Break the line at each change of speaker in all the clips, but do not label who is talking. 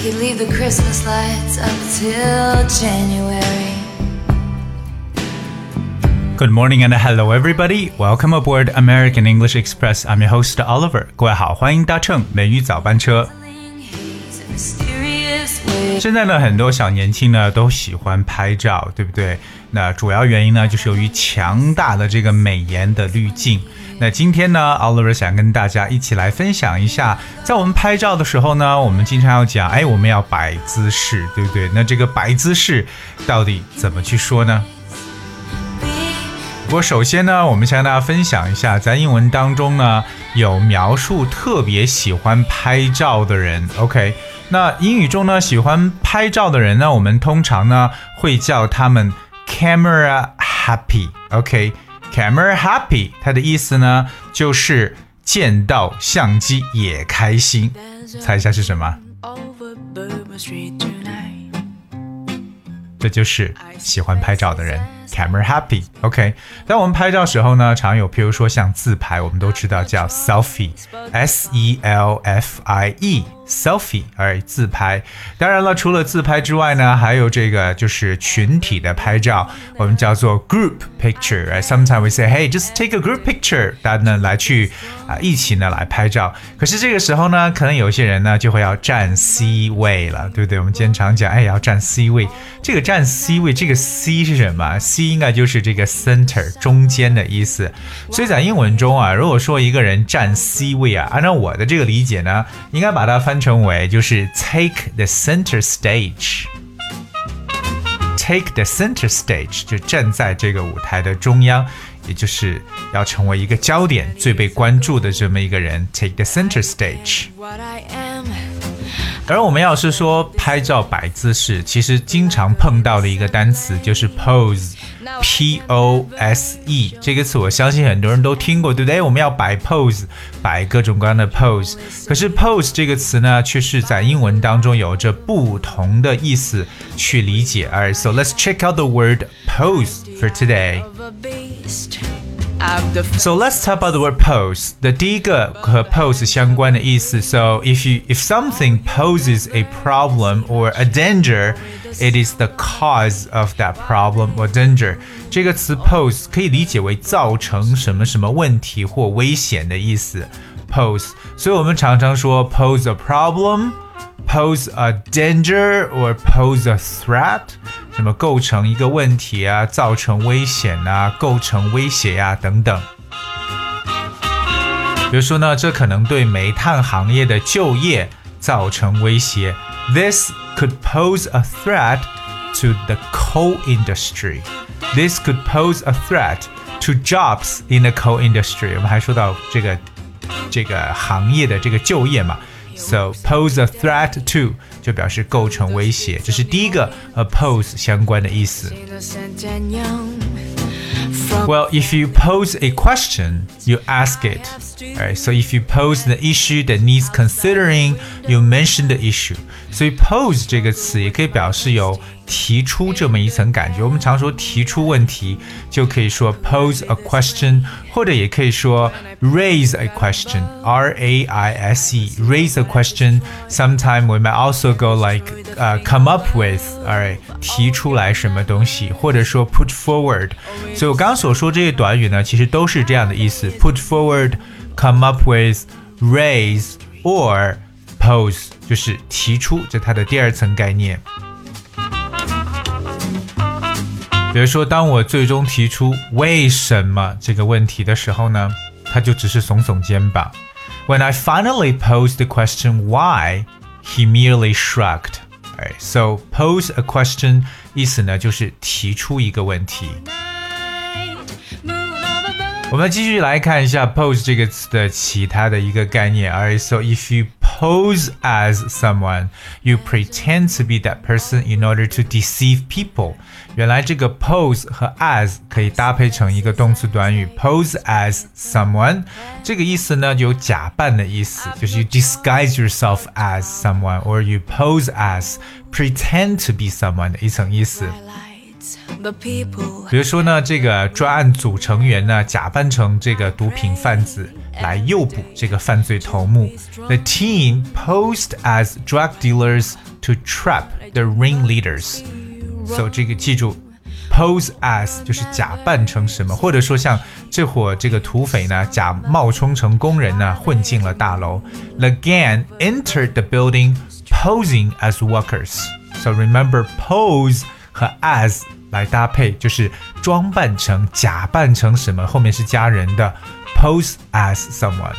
could leave the Christmas lights up till January.
Good morning and hello everybody. Welcome aboard American English Express. I'm your host Oliver. 各位好，欢迎搭乘美语早班车。现在呢，很多小年轻呢都喜欢拍照，对不对？那主要原因呢，就是由于强大的这个美颜的滤镜。那今天呢 Oliver 想跟大家一起来分享一下，在我们拍照的时候呢，我们经常要讲，我们要摆姿势，对不对？那这个摆姿势到底怎么去说呢？不过首先呢，我们想跟大家分享一下，在英文当中呢，有描述特别喜欢拍照的人 OK， 那英语中呢，喜欢拍照的人呢，我们通常呢会叫他们 camera happy OK， camera happy 它的意思呢就是见到相机也开心，猜一下是什么？这就是喜欢拍照的人Camera happy OK， 在我们拍照时候呢，常有譬如说像自拍，我们都知道叫 selfie S-E-L-F-I-E selfie 自拍。当然了，除了自拍之外呢，还有这个就是群体的拍照，我们叫做 group picture Sometimes we say hey just take a group picture， 大家呢来去一起呢来拍照。可是这个时候呢，可能有些人呢就会要占 C 位了，对不对？我们经常讲要占 C 位。这个占 C 位，这个 C 是什么？ C 应该就是这个 center 中间的意思。所以在英文中如果说一个人占 C 位按照我的这个理解呢，应该把它翻成为就是 take the center stage， take the center stage 就站在这个舞台的中央，也就是要成为一个焦点，最被关注的这么一个人 take the center stage。而我们要是说拍照摆姿势，其实经常碰到的一个单词就是 pose P-O-S-E 这个词我相信很多人都听过，对不对？我们要摆 pose， 摆各种各样的 pose。 可是 pose 这个词呢，却是在英文当中有着不同的意思去理解。Alright, so let's check out the word pose for today. So let's talk about the word pose. 的第一个和 pose 相关的意思 So if something poses a problem or a danger, it is the cause of that problem or danger. 这个词 pose 可以理解为造成什么什么问题或危险的意思 Pose， 所以我们常常说 pose a problem, pose a danger or pose a threat， 什么构成一个问题造成危险构成威胁等等。比如说呢，这可能对煤炭行业的就业造成威胁 This could pose a threat to the coal industry. This could pose a threat to jobs in the coal industry. 我们还说到这个行业的这个就业嘛So pose a threat to 就表示构成威胁，这是第一个和 pose 相关的意思。Well, if you pose a question, you ask it. Alright, so if you pose the issue that needs considering, you mention the issue. 所以 pose 这个词也可以表示有提出这么一层感觉。我们常说提出问题，就可以说 pose a question， 或者也可以说 raise a question, R-A-I-S-E, raise a question. Sometimes we might also go like come up with, alright, 提出来什么东西，或者说 put forward. 所以我刚刚所说这些短语呢，其实都是这样的意思 put forward, come up with, raise or pose 就是提出，这它的第二层概念。比如说当我最终提出为什么这个问题的时候呢，他就只是耸耸肩膀。When I finally posed the question why, he merely shrugged. Alright, so pose a question 意思呢就是提出一个问题。我们继续来看一下 pose 这个词的其他的一个概念。Alright, so if you pose as someone, you pretend to be that person in order to deceive people. 原来这个 pose 和 as 可以搭配成一个动词短语 pose as someone， 这个意思呢有假扮的意思，就是 you disguise yourself as someone or you pose as pretend to be someone 的一层意思。 比如说呢，这个专案组成员呢，假扮成这个毒品贩子来诱捕这个犯罪头目。The team posed as drug dealers to trap the ringleaders. So 这个记住 ，pose as 就是假扮成什么，或者说像这伙这个土匪呢，冒充成工人呢，混进了大楼。The gang entered the building posing as workers. So remember pose 和 as 来搭配，就是装扮成、假扮成什么，后面是加人的 pose as someone。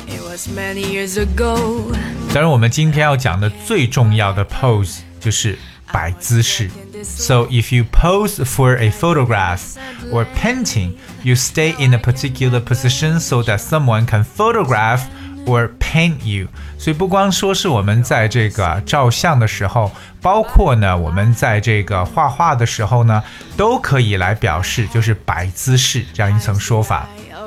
当然，我们今天要讲的最重要的 pose 就是摆姿势。So if you pose for a photograph or painting, you stay in a particular position so that someone can photograph or paint you. 所以不光说是我们在这个照相的时候，包括呢我们在这个画画的时候呢，都可以来表示就是摆姿势这样一层说法。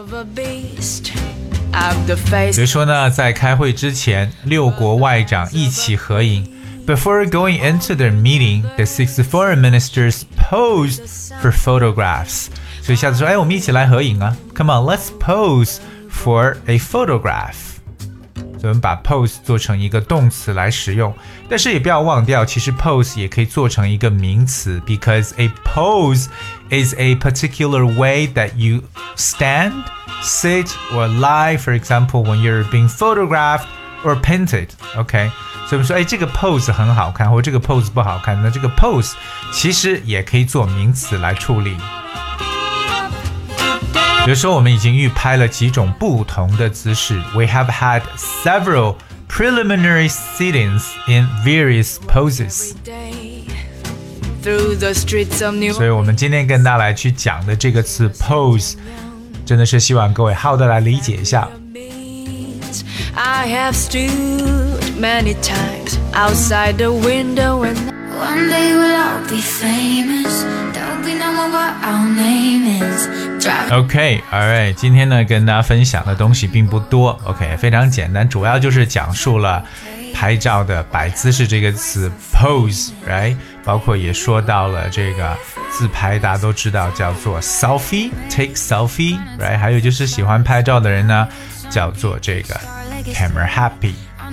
比如说呢，在开会之前，6国外长一起合影。Before going into their meeting, the 6 foreign ministers posed for photographs. 所以下次说，我们一起来合影啊 Come on, let's pose for a photograph. 所以我们把 pose 做成一个动词来使用，但是也不要忘掉，其实 pose 也可以做成一个名词 because a pose is a particular way that you stand, sit, or lie, for example, when you're being photographed or painted, okay?所以我们说，这个 pose 很好看，或者这个 pose 不好看，那这个 pose 其实也可以做名词来处理。比如说，我们已经预拍了几种不同的姿势 ，We have had several preliminary sittings in various poses. 所以我们今天跟大家来去讲的这个词 pose， 真的是希望各位好的来理解一下。
I have stood many times outside the window and one day we'll all be famous. There'll be no more what our name is.
Okay, alright. 今天呢跟大家分享的东西并不多 OK, 非常简单，主要就是讲述了拍照的摆姿势这个词 pose, right? 包括也说到了这个自拍，大家都知道叫做 selfie, take selfie, right? 还有就是喜欢拍照的人呢叫做这个camera happy.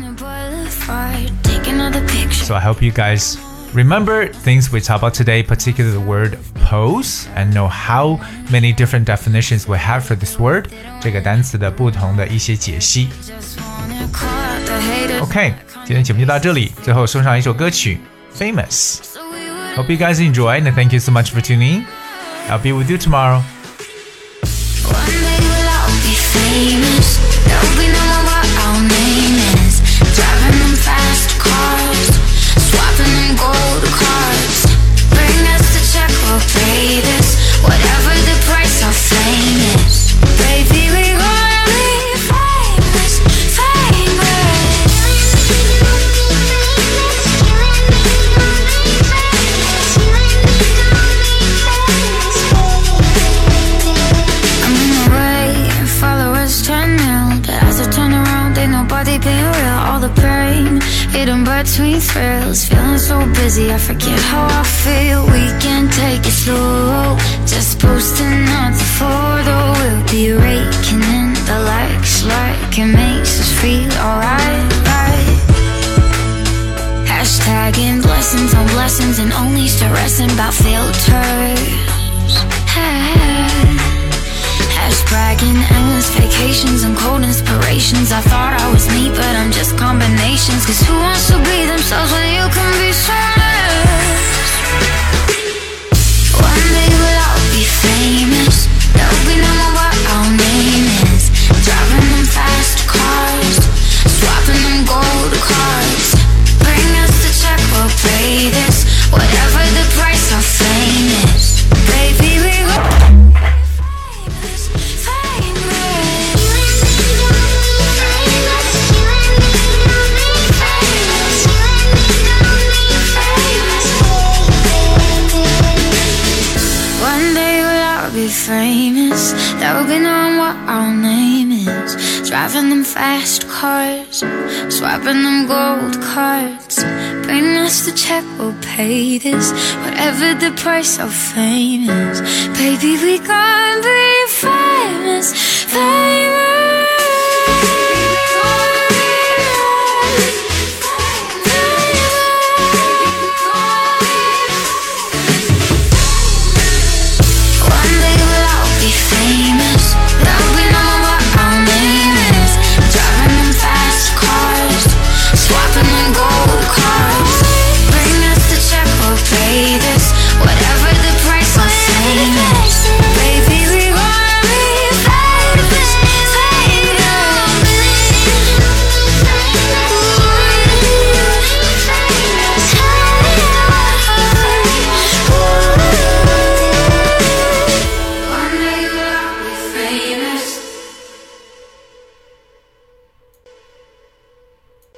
So I hope you guys remember things we talked about today, particularly the word pose, and know how many different definitions we have for this word. 这个单词的不同的一些解析。OK, 今天节目就到这里，最后送上一首歌曲 Famous. Hope you guys enjoyed and thank you so much for tuning in. I'll be with you tomorrow.
One day we'll all be famous. There'll be no more what our name is. Driving them fast cars, swapping them gold cards. Bring us the check, we'll pay this. Whatever the price, our fame is. Baby, we're gonna be famous, famous. I'm in the way, followers turn nil. But as I turn around, ain't nobody being real. All the pain, hidden between thrills. Feeling so busy, I forget how I feel. We can take it slow, just posting not the photo. We'll be raking in the likes like it makes us feel alright, right? Hashtagging blessings on blessings and only stressing about filters. Bragging, endless vacations and cold inspirations. I thought I was me, but I'm just combinations. Cause who wants to be themselves when you can be honest? One day we'll all be famous. There'll be no more what our name is. Driving them fast cars, swapping them gold cards. Bring us the check, we'll pay this. Whatever the price, our fame is. Baby, we go famous. There will be knowing what our name is. Driving them fast cars, swapping them gold cards. Bring us the check, we'll pay this. Whatever the price of fame is, baby, we gon' be famous, famous. Baby